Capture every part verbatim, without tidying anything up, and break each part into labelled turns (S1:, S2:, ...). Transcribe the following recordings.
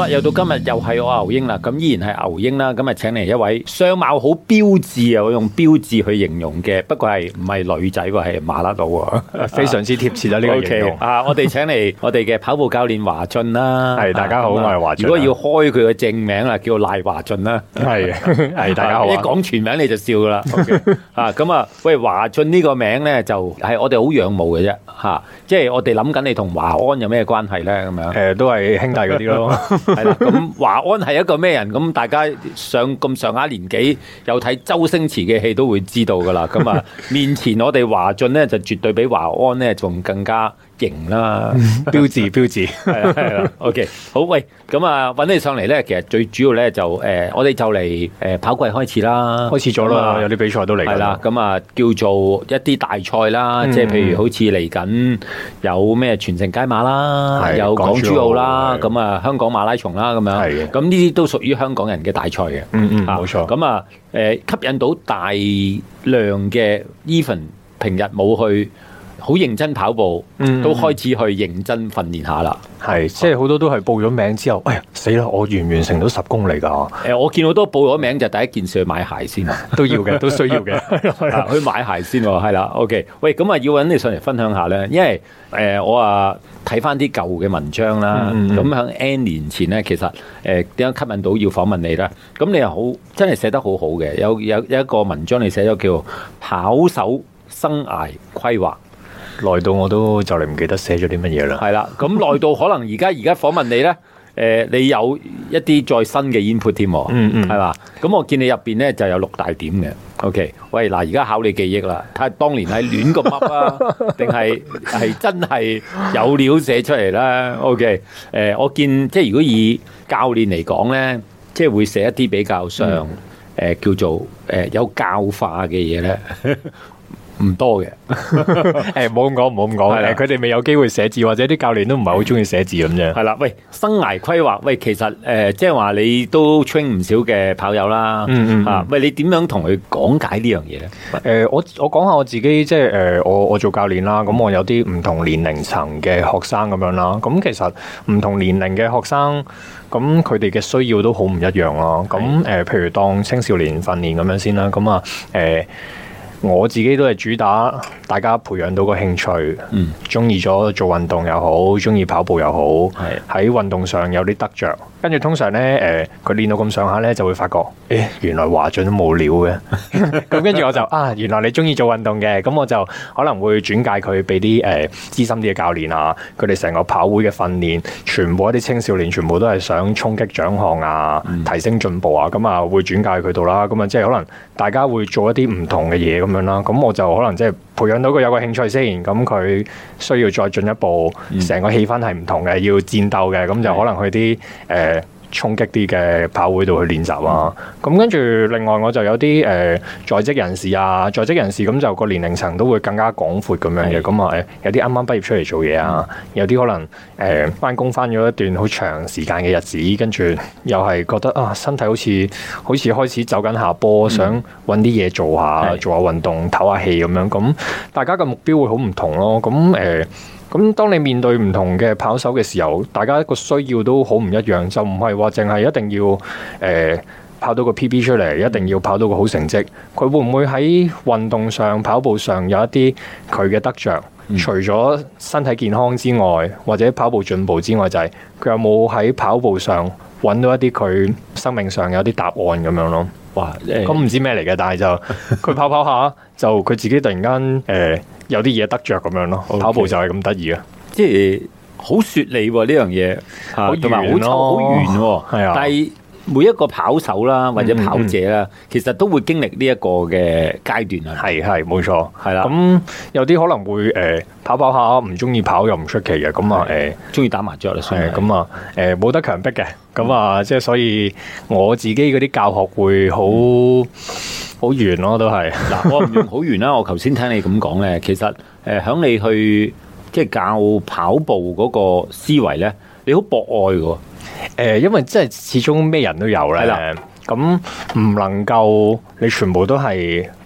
S1: 啦，又到今日又係我牛英啦，咁依然係牛英啦，咁啊請嚟一位相貌好標緻啊，我用標誌去形容嘅，不過係唔係女仔喎，係麻甩佬喎，
S2: 非常之貼切啦呢個形容。
S1: Okay, 啊，我哋請嚟我哋嘅跑步教練華俊啦，
S2: 係大家好，我係華俊。
S1: 如果要開佢嘅正名啦，叫賴華俊啦，
S2: 係係大家好。
S1: 一講全名你就笑噶啦， okay, 啊咁啊，喂華俊呢個名咧就係我哋好仰慕嘅啫，吓，即係我哋諗緊你同華安有咩關係咧咁樣？
S2: 誒，都係兄弟嗰啲咯。
S1: 係啦，咁華安係一個咩人？咁大家上咁上下年紀，有睇周星馳嘅戲都會知道噶啦。咁啊，面前我哋華俊咧就絕對比華安咧仲更加型啦，
S2: 標誌標誌
S1: 係啦係啦。OK， 好，喂，咁啊揾你上嚟咧，其實最主要咧就誒、呃，我哋就嚟誒跑季開始啦，
S2: 開始咗啦，有啲比賽都嚟。
S1: 係啦，咁啊叫做一啲大賽啦，嗯、即係譬如好似嚟緊有咩全城街馬啦，有港珠澳啦，咁啊香港馬拉松啦咁樣，咁呢啲都屬於香港人嘅大賽嘅。
S2: 嗯嗯，冇錯。
S1: 咁啊誒吸引到大量嘅 even 平日冇去好認真跑步，嗯、都開始去認真訓練下啦。
S2: 係，即係好多都係報咗名之後，哎呀死啦！我完唔完成到十公里㗎？誒、
S1: 呃，我見好多報咗名就第一件事去買鞋先，
S2: 都要嘅，都需要嘅、
S1: 啊，去買鞋先喎。係啦 ，OK。喂，咁啊要揾你上嚟分享下咧，因為誒、呃、我啊睇翻啲舊嘅文章啦，咁喺 N 年前咧，其實誒點樣吸引到要訪問你咧？咁你又好真係寫得好好嘅，有有有一個文章你寫咗叫跑手生涯規劃。
S2: 耐到我都就嚟唔記得寫咗啲乜嘢啦。
S1: 係啦，咁耐到可能而家而家訪問你咧，誒、呃，你有一啲再新嘅 input 添，嗯嗯，係嘛？咁我見你入邊咧就有六大點嘅。OK， 喂，嗱，而家考你記憶啦，睇下當年係亂咁噏啊，定係係真係有料寫出嚟啦。OK，誒、呃，我見即係如果以教練嚟講咧，即係會寫一啲比較上誒、嗯呃、叫做誒、呃、有教化嘅嘢咧。唔多嘅，
S2: 誒，唔好咁講，唔好咁講，佢哋未有機會寫字，或者啲教練都唔係好中意寫字咁啫。
S1: 係啦，喂，生涯規劃，喂，其實誒、呃，即係話你都 train 唔少嘅跑友啦，嗯嗯，啊，喂，你點樣同佢講解呢樣嘢咧？誒、
S2: 呃，我我講下我自己，即係誒，我我做教練啦，咁我有啲唔同年齡層嘅學生咁樣啦，咁其實唔同年齡嘅學生，咁佢哋嘅需要都好唔一樣咯。咁誒、呃，譬如當青少年訓練咁樣先啦，咁啊，誒、呃。我自己都係主打大家培養到個興趣，嗯，中意咗做運動又好，中意跑步又好，係喺運動上有啲得着。跟住通常咧，誒佢練到咁上下咧，就會發覺，誒原來華俊都冇料嘅。咁跟住我就啊，原來你中意做運動嘅，咁我就可能會轉介佢俾啲誒資深啲嘅教練啊，佢哋成個跑會嘅訓練，全部一啲青少年，全部都係想衝擊獎項啊，嗯、提升進步啊，咁啊會轉介佢度啦。咁啊即係可能大家會做一啲唔同嘅嘢咁樣啦。咁我就可能即係培養到佢有個興趣先，咁佢需要再進一步，成、嗯、個氣氛係唔同嘅，要戰鬥嘅，咁就可能去啲誒。呃衝擊啲嘅跑會度去練習啊，咁跟住另外我就有啲誒、呃、在職人士啊，在職人士咁就個年齡層都會更加廣闊咁樣嘅，咁啊誒有啲啱啱畢業出嚟做嘢啊，嗯、有啲可能誒返工返咗一段好長時間嘅日子，跟住又係覺得啊身體好似好似開始走緊下坡，嗯、想揾啲嘢做下，做下運動，唞下氣咁樣，咁大家嘅目標會好唔同咯，咁誒。呃咁當你面對唔同嘅跑手嘅時候，大家一個需要都好唔一樣，就唔係話淨係一定要誒、呃、跑到個 P B 出嚟，一定要跑到個好成績。佢會唔會喺運動上、跑步上有一啲佢嘅得着？嗯、除咗身體健康之外，或者跑步進步之外，就係、是、佢有冇喺跑步上揾到一啲佢生命上有啲答案咁樣咯？哇！咁唔知咩嚟嘅，但係就佢跑跑下，就佢自己突然間誒、呃、有啲嘢得着咁樣咯。Okay. 跑步就係咁得意啊！即係好雪利喎呢樣嘢，同埋好粗好圓喎。係啊，但係每一個跑手啦或者跑者啦，嗯嗯、其實都會經歷呢一個嘅階段啊。係係冇錯，係啦。咁有啲可能會誒、呃、跑跑下唔中意跑又唔出奇嘅。咁啊誒，中意打麻雀啦，係咁啊誒冇得強迫嘅。咁啊，即係所以我自己嗰啲教學會好好圓咯，都係嗱，我唔用好圓啦。我頭先聽你咁講咧，其實誒響、呃、你去即係教跑步嗰個思維咧，你好博愛嘅。誒、呃，因為即係始終咩人都有咧，咁唔能夠你全部都係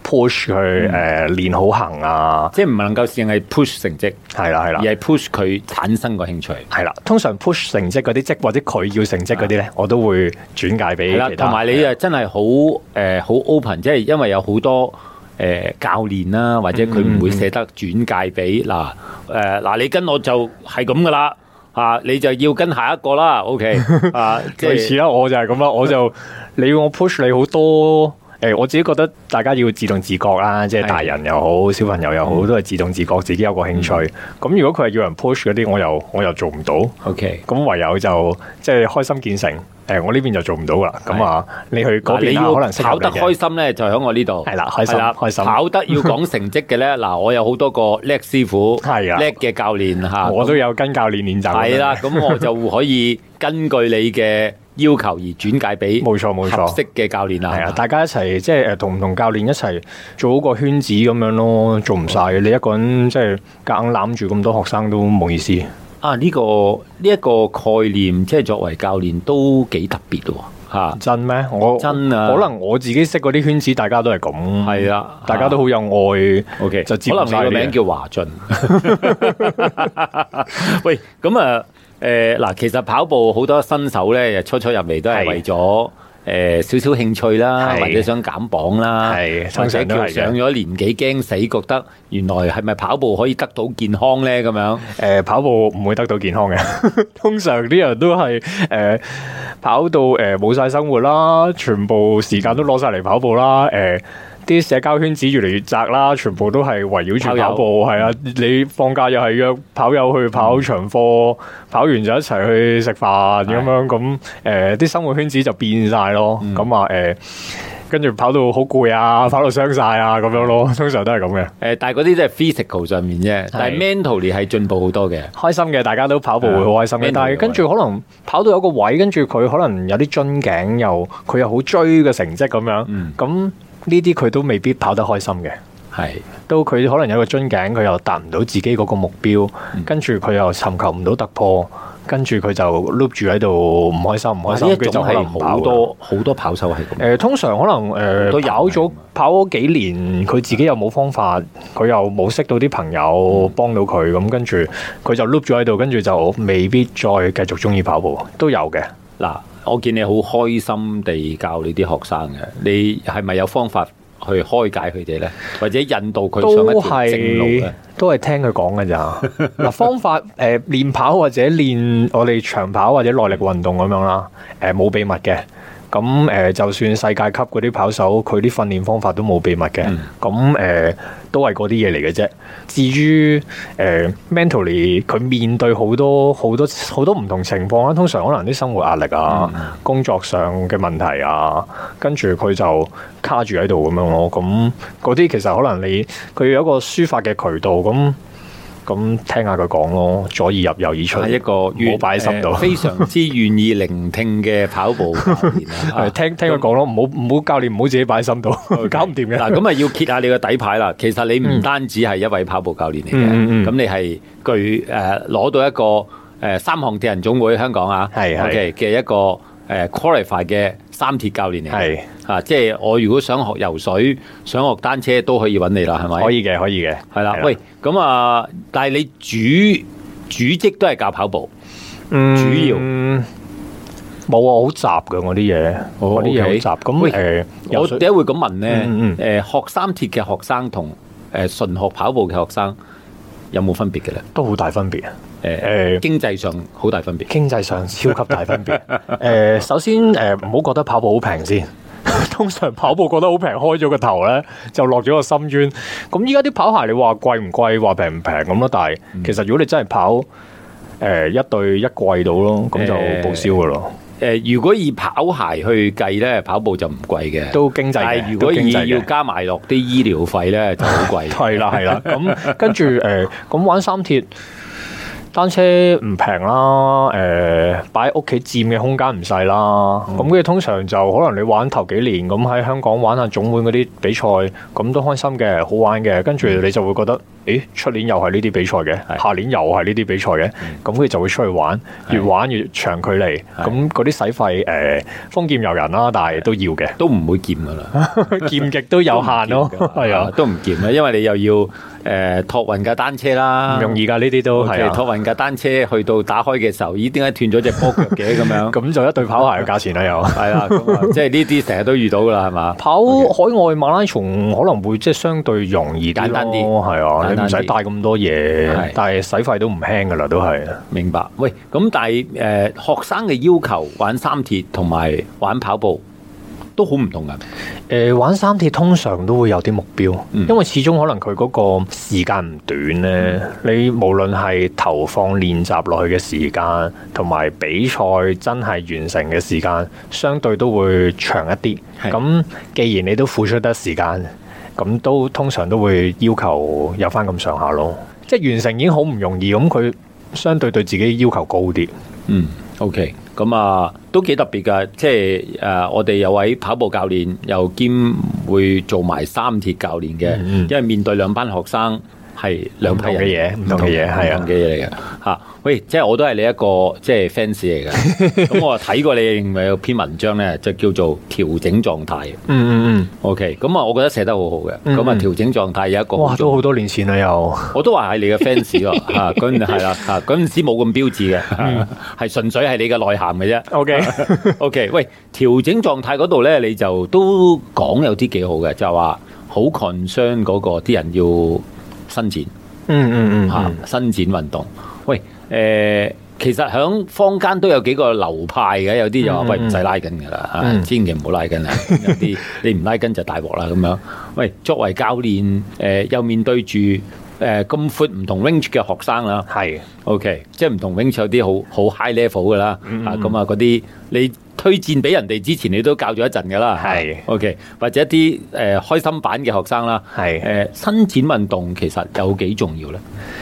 S2: push 佢誒練好行啊，
S1: 即係唔能夠淨係 push 成績，
S2: 係啦係啦，
S1: 而係 push 佢產生個興趣，
S2: 係啦。通常 push 成績嗰啲，即或者佢要成績嗰啲咧，我都會轉介俾其他。
S1: 同埋你啊，真係好誒好 open，即係因為有好多。誒、呃、教練啦，或者佢唔會捨得轉介俾嗱誒嗱，你跟我就係咁噶啦嚇，你就要跟下一個啦 ，OK 啊，
S2: 類似啦，我就係咁啦，我就你要我 push 你好多誒、呃，我自己覺得大家要自動自覺啦，即係大人又好，小朋友又好，嗯、都係自動自覺，自己有個興趣。咁、嗯、如果佢係要人 push 嗰啲，我又我又做唔到，OK，咁唯有就即係開心見誠。誒，我呢邊就做唔到啦。咁啊，你去嗰邊可能
S1: 跑得開心咧，就喺我呢度。
S2: 係啦，開心開心。
S1: 跑得要講成績嘅咧，嗱，我有好多個叻師傅，係啊，叻嘅教練嚇。
S2: 我都有跟教練練習。係啦，
S1: 咁我就可以根據你嘅要求而轉介俾
S2: 冇錯冇錯
S1: 合適嘅教練啦。
S2: 係啊，大家一齊即係誒同唔同教練一齊做好個圈子咁樣咯，做唔晒嘅。你一個人即係夾硬攬住咁多學生都冇意思。
S1: 啊！呢、這個呢一、這個概念，即係作為教練都幾特別喎嚇。真咩？我真啊，可能我自己識嗰啲圈子，大家都係咁。係啊，大家都好有愛。OK，就可能你個名叫華俊。喂，咁啊誒嗱，其實跑步好多新手咧，初初入嚟都係為咗。誒少少興趣啦，或者想減磅啦，或者叫上咗年紀驚死，覺得原來係咪跑步可以得到健康咧？咁樣誒，跑步唔會得到健康嘅，通常啲人都係誒跑到誒冇晒生活啦，全部時間都攞晒嚟跑步啦，誒。啲社交圈子越嚟越窄啦，全部都係圍繞住跑步，係啊！你放假又係約跑友去跑長課，嗯、跑完就一齊去食飯咁樣，咁誒啲生活圈子就變晒咯。咁啊誒，跟住跑到好攰啊，跑到傷晒啊咁樣咯，通常都係咁嘅。誒，但係嗰啲都係 physical 上面啫，但係 mentally 係進步好多嘅，開心嘅，大家都跑步會好開心嘅。但係跟住可能跑到有個位，跟住佢可能有啲樽頸，又佢又好追嘅成績咁樣，咁、嗯。呢啲佢都未必跑得開心嘅，係都佢可能有個樽頸，佢又達唔到自己嗰個目標，嗯、跟住佢又尋求唔到突破，跟住佢就 loop 住喺度唔開心唔開心，佢就可能好多好多跑手係咁。誒、呃，通常可能誒、呃、都跑咗跑咗幾年，佢自己又冇方法，佢又冇識到啲朋友幫到佢，咁、嗯、跟住佢就 loop 咗喺度，跟住就未必再繼續中意跑步，都有嘅嗱。我見你好開心地教你啲學生嘅，你係咪有方法去開解佢哋咧，或者引導佢上一條正路咧？都係聽佢講嘅咋嗱，方法誒練跑或者練我哋長跑或者耐力運動咁樣啦，誒冇秘密嘅。咁誒，就算世界級嗰啲跑手，佢啲訓練方法都冇秘密嘅。咁誒、嗯，都係嗰啲嘢嚟嘅啫。至於誒、呃、mentally，佢面對好多好多好多唔同情況啦。通常可能啲生活壓力啊、嗯、工作上嘅問題啊，跟住佢就卡住喺度咁樣咯。咁嗰啲其實可能你佢有一個抒發嘅渠道咁。咁聽下佢講咯，左耳入右耳出，係一個冇擺喺心度，非常之願意聆聽嘅跑步教練啊！聽聽佢講咯，唔好唔好教練唔好自己擺喺心度，搞唔掂嘅。嗱，咁啊要揭下你個底牌啦。其實你唔單止係一位跑步教練嚟嘅，咁、嗯嗯、你係具誒攞、呃、到一個誒、呃、三項鐵人總會香港啊，係 OK 嘅一個誒、呃、qualify 嘅三鐵教練嚟嘅。啊，即係我如果想學游水、想學單車都可以揾你啦，係咪？可以嘅，可以嘅，係啦。喂，咁啊，但係你主主職都係教跑步，嗯、主要冇啊，好雜㗎我啲嘢，我啲嘢好雜。咁誒、呃，我點解會咁問咧？誒、嗯嗯呃，學三鐵嘅學生同誒純學跑步嘅學生有冇分別嘅咧？都好大分別啊！誒、呃、誒，經濟上好大分別，經濟上超級大分別。誒、呃，首先誒，唔、呃、好覺得跑步好平先。通常跑步覺得好平，開咗個頭咧就落咗個深淵。咁依家啲跑鞋你話貴唔貴，話平唔平咁咯？但係其實如果你真係跑誒、呃、一對一季到咯，咁就報銷噶咯。誒、呃呃，如果以跑鞋去計咧，跑步就唔貴嘅，都經濟。但係如果以要加埋落啲醫療費咧，就好貴。係啦係啦，咁跟住誒，咁、呃、玩三鐵。單車唔平啦，誒、呃，擺喺屋企佔嘅空間唔細啦，咁跟住通常就可能你玩頭幾年，咁喺香港玩下總會嗰啲比賽，咁都開心嘅，好玩嘅，跟住你就會覺得
S2: 誒出年又係呢啲比賽嘅，下年又係呢啲比賽嘅，咁佢就會出去玩，越玩越長距離，咁嗰啲使費誒豐儉由人啦，但係都要嘅，
S1: 都唔會儉噶啦，
S2: 儉極都有限咯，係啊，
S1: 都唔儉啊，因為你又要誒託運架單車啦，
S2: 唔容易噶呢啲都係啊，
S1: 託運架單車去到打開嘅時候，咦點解斷咗隻波腳嘅咁樣？
S2: 咁就一對跑鞋嘅價錢啦，又
S1: 係啦，咁啊，即係呢啲成日都遇到噶啦，係嘛？
S2: 跑海外馬拉松可能會即係相對容易
S1: 簡單啲，
S2: 係啊，你唔使帶咁多嘢，但係使費都唔輕噶啦，都係。
S1: 明白。喂，咁但係誒、呃、學生嘅要求玩三鐵同埋玩跑步都好唔同噶。
S2: 誒、呃，玩三鐵通常都會有啲目標，
S1: 嗯、
S2: 因為始終可能佢嗰個時間唔短咧。嗯、你無論係投放練習落去嘅時間，同埋比賽真係完成嘅時間，相對都會長一啲。咁既然你都付出得時間，咁都通常都會要求有翻咁上下咯。即係完成已經好唔容易，咁佢相對對自己要求高啲。
S1: 嗯 ，OK。咁啊，都幾特別噶，即係誒、呃，我哋有位跑步教練，又兼會做埋三鐵教練嘅，嗯嗯因為面對兩班學生係兩批人嘅嘢，唔同嘅嘢，係啊嘅嘢嚟嘅嚇。喂，即係我都係你一個即係 fans 嚟嘅，咁我睇過你認為有篇文章咧，就叫做調整狀態。嗯嗯嗯，OK，咁啊，我覺得寫得好好嘅。咁啊、嗯嗯，調整狀態有一個
S2: 哇，都好多年前啦，又
S1: 我都話係你嘅 fans 喎嚇，嗰陣係啦嚇，嗰陣時冇咁標誌嘅，係、嗯、純粹係你嘅內涵嘅啫。OK OK，喂，調整狀態嗰度咧，你就都講有啲幾好嘅，就係話好 concern 嗰個啲人要伸展。嗯嗯嗯嚇，伸展運動。喂。誒、呃，其實響坊間都有幾個流派嘅，有啲就話喂唔使拉筋噶啦，嗯、千祈唔好拉筋啊！有啲你唔拉筋就大鑊啦咁樣。喂，作為教練，誒、呃、又面對住誒咁闊唔同 range 嘅學生啦，係是 OK，即係唔同 range 有啲好好 high level 噶啦，嗯、啊咁啊嗰啲你推薦俾人哋之前，你都教咗一陣噶啦，係是 OK，或者一啲誒、呃、開心版嘅學生啦，係誒是、呃、伸展運動其實有幾重要咧？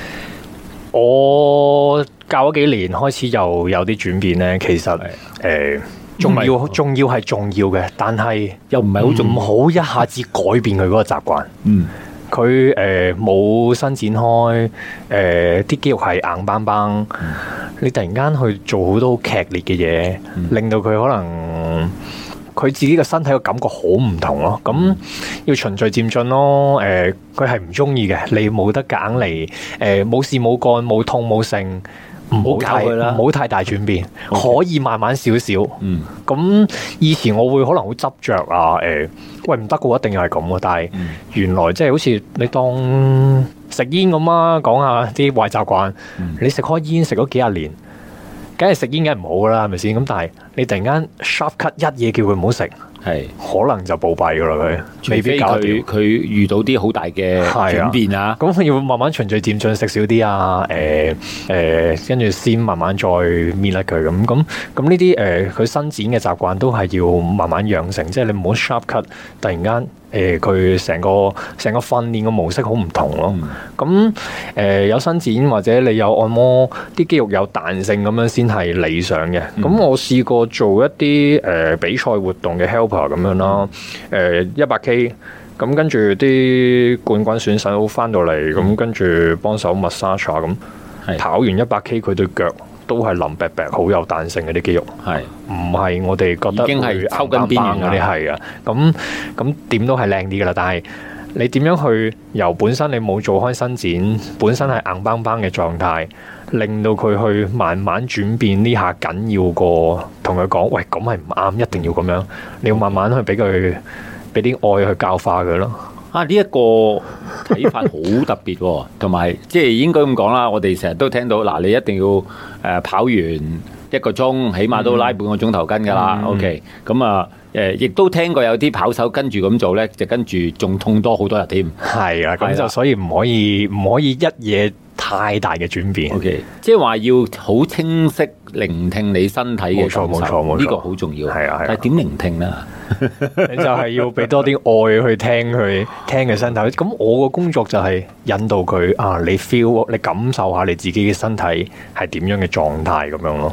S1: 我教咗幾年，開始又有啲轉變咧。其實誒，重要重要係重要嘅，但係又唔係好重，唔好一下子改變佢嗰個習慣。嗯，佢誒冇伸展開，誒、呃、啲肌肉係硬邦邦。嗯、你突然間去做好多劇烈嘅嘢，嗯、令到佢可能。佢自己嘅身體嘅感覺好唔同咯，咁要循序漸進咯。誒、呃，佢係唔中意嘅，你冇得夾硬嚟。誒、呃，冇事冇幹，冇痛冇性，唔好教佢啦，唔好太大轉變，Okay. 可以慢慢少少。嗯，咁以前我會可能好執着啊。誒、呃，喂唔得嘅話，一定要係咁嘅。但係原來即係好似你當食煙咁啊，講下啲壞習慣。嗯、你食開煙食咗幾廿年。梗係食煙梗係唔好噶啦，係咪先？咁但係你突然間 sharp cut 一嘢叫佢唔好食，係是可能就暴斃噶啦佢，未必搞掂。佢遇到啲好大嘅轉變啊！咁
S2: 要慢慢循序漸進，食少啲啊！誒、呃、誒，跟、呃、住先慢慢再搣甩佢咁。咁咁呢啲誒，佢、呃、伸展嘅習慣都係要慢慢養成，即係你唔好 sharp cut，突然間。誒佢成個成個訓練嘅模式好唔同咯，咁誒、嗯呃、有伸展或者你有按摩，啲肌肉有彈性咁樣先係理想嘅。咁、嗯、我試過做一啲誒、呃、比賽活動嘅 helper 咁樣啦，誒一百 K，咁跟住啲冠軍選手翻到嚟，咁、嗯、跟住幫手 massage 咁，是跑完一百 K 佢對腳都係腍白白，好有彈性嘅啲肌肉，係唔係我哋覺得已經係抽緊邊緣嗰啲係啊？咁咁點都係靚啲噶啦。但係你點樣去由本身你冇做開伸展，本身係硬邦邦嘅狀態，令到佢去慢慢轉變呢下緊要過同佢講，喂咁係唔啱，一定要咁樣。你要慢慢去俾佢俾啲愛去教化佢咯。
S1: 啊！呢、這、一個睇法好特別喎、哦，同埋即係應該咁講啦。我哋成日都聽到嗱，你一定要誒、呃、跑完一個鐘，起碼都拉半個鐘頭筋㗎啦。嗯、OK，咁啊誒，亦都聽過有啲跑手跟住咁做咧，就跟住仲痛多好多日添。係啊，咁就所以唔可以唔可以一嘢太大嘅轉變。OK，即係話要好清晰聆聽你身體嘅感受。冇錯，冇錯，冇錯，呢個好重要。係啊，係啊。但係點聆聽咧？你就係要俾多啲愛去聽佢聽佢身體。咁我個工作就係引導佢啊，你 feel，你感受下你自己嘅身體係點樣嘅狀態咁樣咯。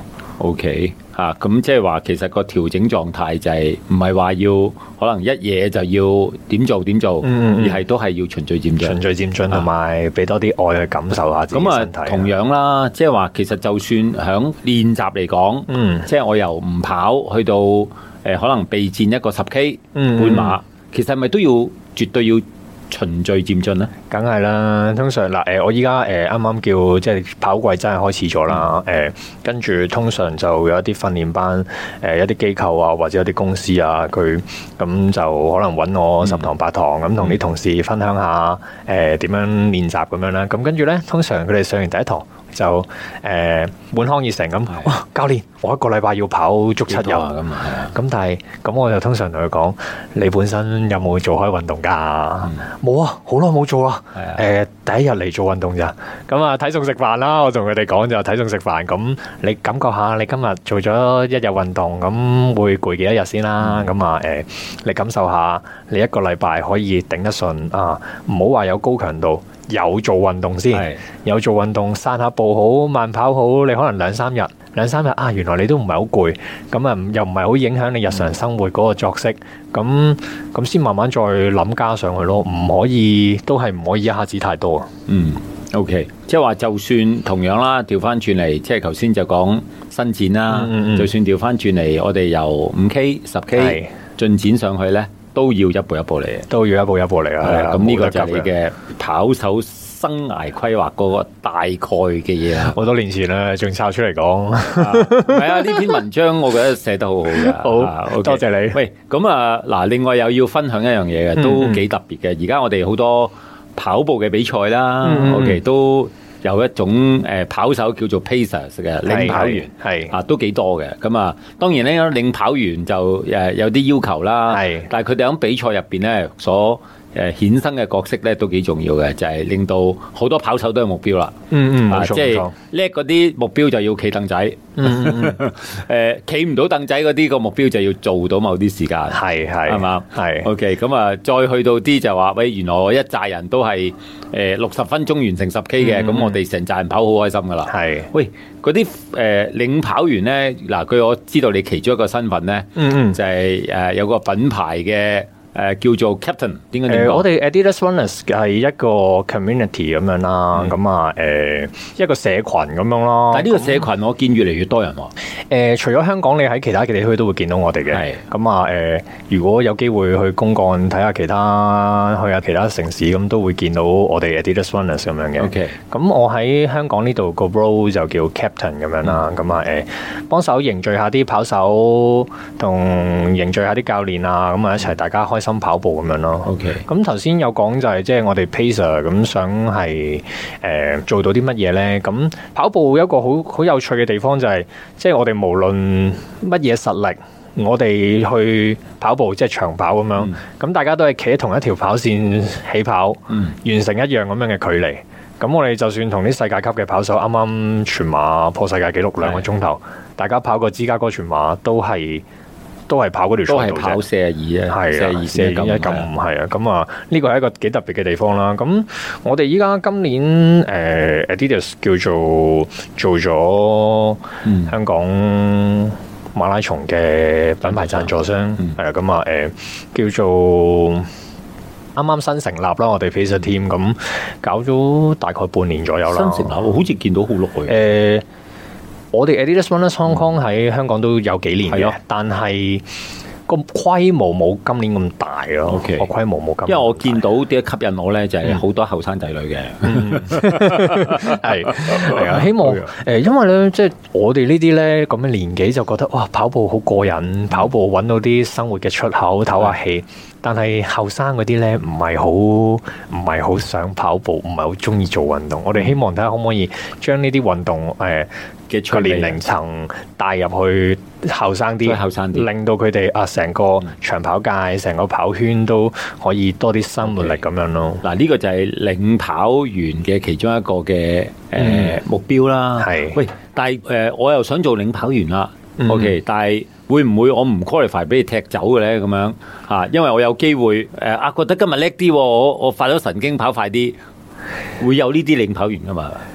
S1: OK 嚇，咁即係話其實個調整狀態就係唔係話要可能一嘢就要點做點做，嗯嗯而係都係要循序漸進，
S2: 循序漸進同埋俾多啲愛去感受下自己身體。咁啊，
S1: 同樣啦，即係話其實就算響練習嚟講，嗯，即係我由唔跑去到誒、呃、可能備戰一個十 K 半馬，嗯、其實係咪都要絕對要循序漸進咧？
S2: 梗係啦，通常嗱，誒，我依家誒啱啱叫即係跑季真係開始咗啦，誒、嗯，跟住通常就有一啲訓練班，誒，一啲機構啊，或者有啲公司啊，佢咁就可能揾我十堂八堂，咁同啲同事分享下，誒，點樣練習咁樣啦，咁跟住咧，通常佢哋上完第一堂就誒滿腔熱誠咁，哇，教練，我一個禮拜要跑足七日啊，咁啊，咁但係咁我就通常同佢講，你本身有冇做開運動噶？冇啊，好耐冇做啦。誒、呃，第一日嚟做運動咋？咁啊，睇餸食飯啦。我同佢哋講就睇餸食飯。咁你感覺下，你今日做咗一日運動，咁會攰幾多日先啦？咁啊、嗯，誒、呃，你感受下，你一個禮拜可以頂得順啊？唔好話有高強度，有做運動先，是有做運動，散下步好，慢跑好，你可能兩三日。兩三日啊，原來你都唔係好攰，咁啊又唔係好影響你日常生活嗰個作息，咁咁先慢慢再諗加上去咯，唔可以都係唔可以一下子太多啊。嗯
S1: ，OK， 即係話就算同樣啦，調翻轉嚟，即係頭先就講伸展啦，嗯嗯就算調翻轉嚟，我哋由五 K、十 K 進展上去咧，都要一步一步嚟，
S2: 都要一步一步嚟啊。係啦，咁呢個就係你嘅
S1: 跑手生涯規劃嗰個大概嘅嘢啦，
S2: 好多年前啦，仲抄出嚟講。
S1: 係啊，呢篇文章我覺得寫得好好嘅。
S2: 好，啊 okay、多謝你。
S1: 喂，咁啊，嗱，另外又要分享一樣嘢嘅，都幾特別嘅。而家我哋好多跑步嘅比賽啦、嗯、，OK， 都有一種誒跑手叫做 Pacers 嘅領跑員，係啊，都幾多嘅。咁啊，當然咧，領跑員就誒有啲要求啦，係，但係佢哋喺比賽入邊咧所誒衍生嘅角色咧都幾重要嘅，就係、是、令到好多跑手都有目標啦。嗯嗯，啊、即係叻嗰啲目標就要企凳仔。嗯嗯誒，企唔到凳仔嗰啲個目標就要做到某啲時間。係係係嘛係。OK， 咁啊，再去到啲就話喂，原來我一紮人都係誒六十分鐘完成十 K 嘅，咁、嗯、我哋成紮人跑好開心噶啦。係。喂，嗰啲誒領跑員咧，嗱，據我知道你其中一個身份咧，嗯嗯，就係、是、誒、呃、有個品牌嘅。誒、呃、叫做 Captain， 點解點講？
S2: 誒我哋 Adidas Runners 係一個 community 咁樣啦，咁啊誒一個社群咁樣咯。
S1: 但係呢個社群我見越嚟越多人喎。誒、
S2: 呃、除咗香港，你喺其他嘅地區都會見到我哋嘅。係。咁啊誒，如果有機會去公幹睇下其他，去下其他城市，咁都會見到我哋 Adidas Runners 咁樣嘅。OK。咁我喺香港呢度個 role 就叫 Captain 咁樣啦。咁啊誒，幫手凝聚下啲跑手，同凝聚下啲教練啊，咁啊一齊大家開心跑步咁樣咯。OK，咁頭先有講就係即係我哋 Pacer 咁想係誒、呃、做到啲乜嘢咧？咁跑步有一個好好有趣嘅地方就係、是，即係我哋無論乜嘢實力，我哋去跑步即係長跑咁樣，咁、嗯、大家都係企喺同一條跑線起跑，嗯、完成一樣咁樣嘅距離。咁我哋就算同啲世界級嘅跑手啱啱全馬破世界紀錄兩個鐘頭，大家跑過芝加哥全馬都係。都係跑嗰條賽道啫，都係跑四十二啊，四十二、四十一咁係啊，咁啊呢個係一個幾特別嘅地方啦。咁我哋依家今年誒、呃、Adidas 叫做做咗香港馬拉松嘅品牌贊助商，係啊，咁啊誒叫做啱啱新成立啦，我哋 Pacer Team 咁搞咗大概半年左右啦。
S1: 新成立，好似見到好耐嘅。
S2: 呃我哋 Adidas Runners Hong Kong 喺香港都有幾年嘅，但係個規模冇今年咁大咯。個規模冇咁，
S1: 因為我見到啲吸引我咧，就係好多後生仔女嘅。
S2: 係係啊，希望誒，因為咧，即係我哋呢啲咧咁嘅年紀就覺得哇，跑步好過癮，跑步揾到啲生活嘅出口，唞下氣。但係後生嗰啲咧，唔係好唔係好想跑步，唔係好中意做運動。我哋希望睇下可唔可以將呢啲運動誒嘅個年齡層帶入去後生啲，後生啲，令到佢哋啊成個長跑界、成個跑圈都可以多啲生活力咁樣咯。
S1: 嗱，呢個就係領跑員嘅其中一個嘅誒、呃嗯、目標啦。係，喂，但係誒、呃、我又想做領跑員啦。嗯、OK， 但係會唔會我唔 qualify 俾你踢走嘅咧？咁樣嚇，因為我有機會誒啊，覺得今日叻啲，我我發咗神經跑快啲，會有呢啲領跑員噶嘛？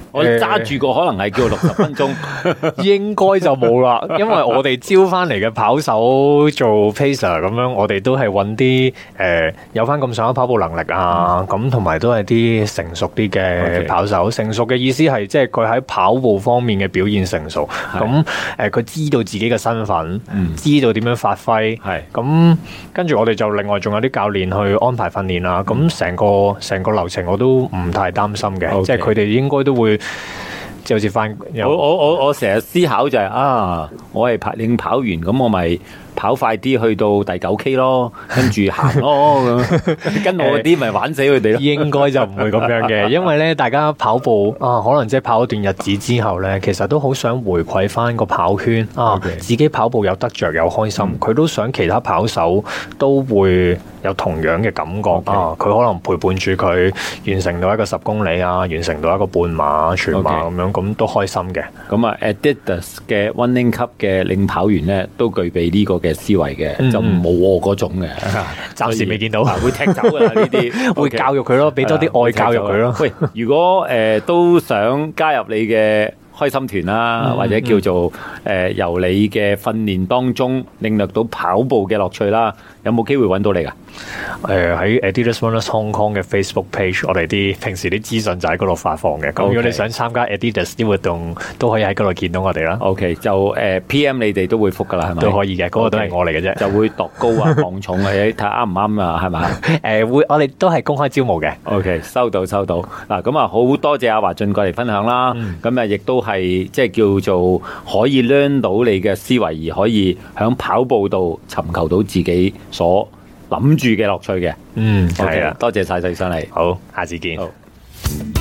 S1: 我揸住個可能係叫六十分鐘，
S2: 應該就冇啦，因為我哋招翻嚟嘅跑手做 pacer 咁樣，我哋都係揾啲誒有翻咁上下跑步能力啊，咁同埋都係啲成熟啲嘅跑手。Okay. 成熟嘅意思係即係佢喺跑步方面嘅表現成熟，咁誒佢知道自己嘅身份，嗯、知道點樣發揮，係咁跟住我哋就另外仲有啲教練去安排訓練啦，咁成個成個流程我都唔太擔心嘅，okay. 即係佢哋應該都會。就好似翻，
S1: 我我我我成日思考就係、是、啊，我係跑領跑完，咁我咪跑快啲去到第九 K 咯，跟住行咯咁，跟我啲咪玩死佢哋咯。應該
S2: 就唔會咁樣嘅，因為咧大家跑步啊，可能即係跑一段日子之後咧，其實都好想回饋翻個跑圈啊，okay. 自己跑步有得着有開心，佢、嗯、都想其他跑手都會有同樣嘅感覺、okay. 啊，佢可能陪伴住佢完成到一個十公里啊，完成到一個半馬、全馬咁、okay. 樣。咁都開心嘅。咁啊 ，Adidas 嘅 Running Club 嘅領跑員咧，都具備呢個嘅思維嘅、嗯，就冇我嗰種嘅。暫時未見到，會踢走噶啦呢啲，會教育佢咯，俾多啲愛教育佢咯。喂，如果誒、呃、都想加入你嘅開心團啦、嗯，或者叫做誒、呃、由你嘅訓練當中領略到跑步嘅樂趣啦，有冇機會揾到你噶？誒、呃、喺 Adidas Runners Hong Kong 嘅 Facebook page， 我哋啲平時啲資訊就喺嗰度發放嘅。咁、okay. 如果你想參加 Adidas 啲活動，都可以喺嗰度見到我哋啦。OK， 就誒、呃、P M 你哋都會覆噶啦，係咪？都可以嘅，嗰、那個都係我嚟嘅啫。就會度高啊、磅重啊，睇下啱唔啱啊，係咪？誒、呃、會，我哋都係公開招募嘅。OK， 收到收到。嗱，咁啊好多謝阿華俊過嚟分享啦。咁、嗯、啊亦都係即係叫做可以 learn 到你嘅思維，而可以喺跑步度尋求到自己所諗住嘅樂趣嘅。嗯，係啊，多謝晒細上嚟。好，下次見。好。